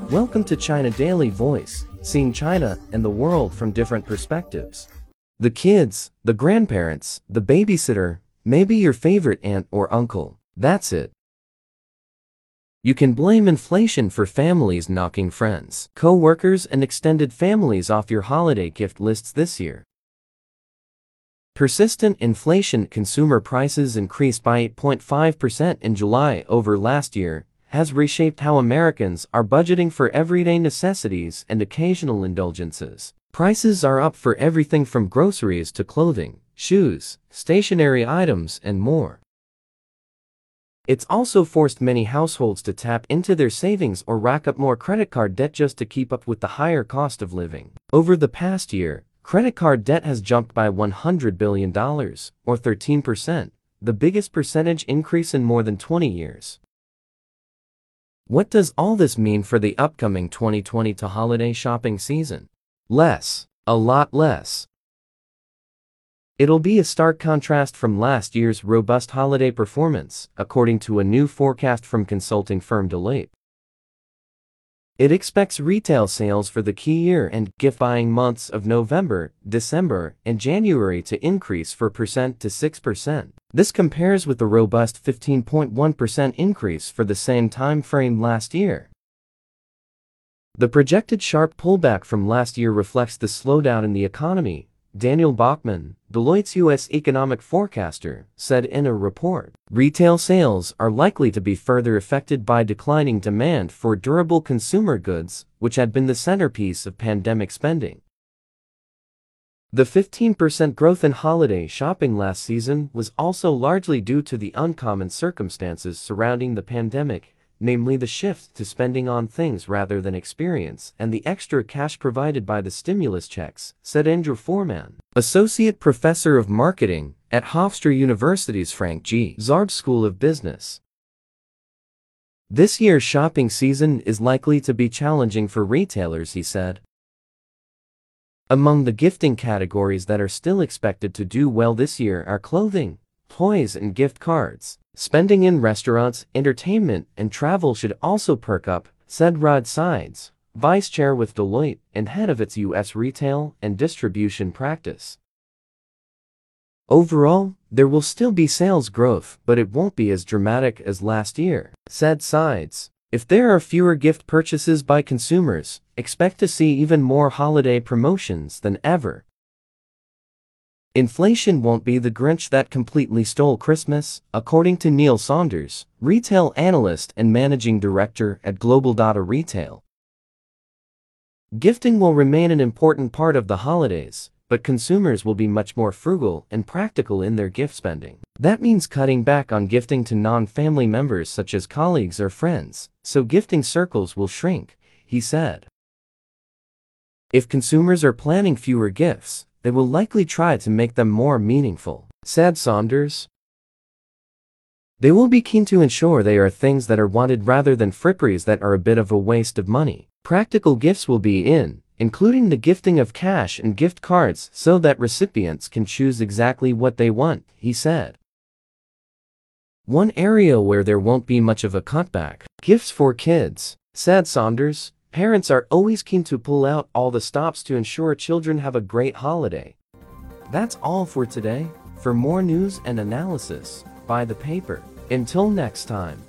Welcome to China Daily Voice, seeing China and the world from different perspectives. The kids, the grandparents, the babysitter, maybe your favorite aunt or uncle, that's it. You can blame inflation for families knocking friends, co-workers and extended families off your holiday gift lists this year. Persistent inflation. Consumer prices increased by 8.5% in July over last year, has reshaped how Americans are budgeting for everyday necessities and occasional indulgences. Prices are up for everything from groceries to clothing, shoes, stationery items, and more. It's also forced many households to tap into their savings or rack up more credit card debt just to keep up with the higher cost of living. Over the past year, credit card debt has jumped by $100 billion, or 13%, the biggest percentage increase in more than 20 years. What does all this mean for the upcoming 2020 holiday shopping season? Less. A lot less. It'll be a stark contrast from last year's robust holiday performance, according to a new forecast from consulting firm Deloitte. It expects retail sales for the key year-end gift-buying months of November, December, and January to increase 4% to 6%. This compares with the robust 15.1% increase for the same time frame last year. The projected sharp pullback from last year reflects the slowdown in the economy, Daniel Bachman, Deloitte's U.S. economic forecaster, said in a report. Retail sales are likely to be further affected by declining demand for durable consumer goods, which had been the centerpiece of pandemic spending. The 15% growth in holiday shopping last season was also largely due to the uncommon circumstances surrounding the pandemic, namely the shift to spending on things rather than experience and the extra cash provided by the stimulus checks, said Andrew Foreman, Associate Professor of Marketing at Hofstra University's Frank G. Zarb School of Business. This year's shopping season is likely to be challenging for retailers, he said. Among the gifting categories that are still expected to do well this year are clothing, toys, and gift cards. Spending in restaurants, entertainment, and travel should also perk up, said Rod Sides, vice chair with Deloitte and head of its U.S. retail and distribution practice. Overall, there will still be sales growth, but it won't be as dramatic as last year, said Sides. If there are fewer gift purchases by consumers, expect to see even more holiday promotions than ever. Inflation won't be the Grinch that completely stole Christmas, according to Neil Saunders, retail analyst and managing director at Global Data Retail. Gifting will remain an important part of the holidays, but consumers will be much more frugal and practical in their gift spending. That means cutting back on gifting to non-family members such as colleagues or friends, so gifting circles will shrink, he said. If consumers are planning fewer gifts, they will likely try to make them more meaningful, said Saunders. They will be keen to ensure they are things that are wanted rather than fripperies that are a bit of a waste of money. Practical gifts will be in, including the gifting of cash and gift cards so that recipients can choose exactly what they want, he said. One area where there won't be much of a cutback, gifts for kids, said Saunders. Parents are always keen to pull out all the stops to ensure children have a great holiday. That's all for today. For more news and analysis, buy the paper. Until next time.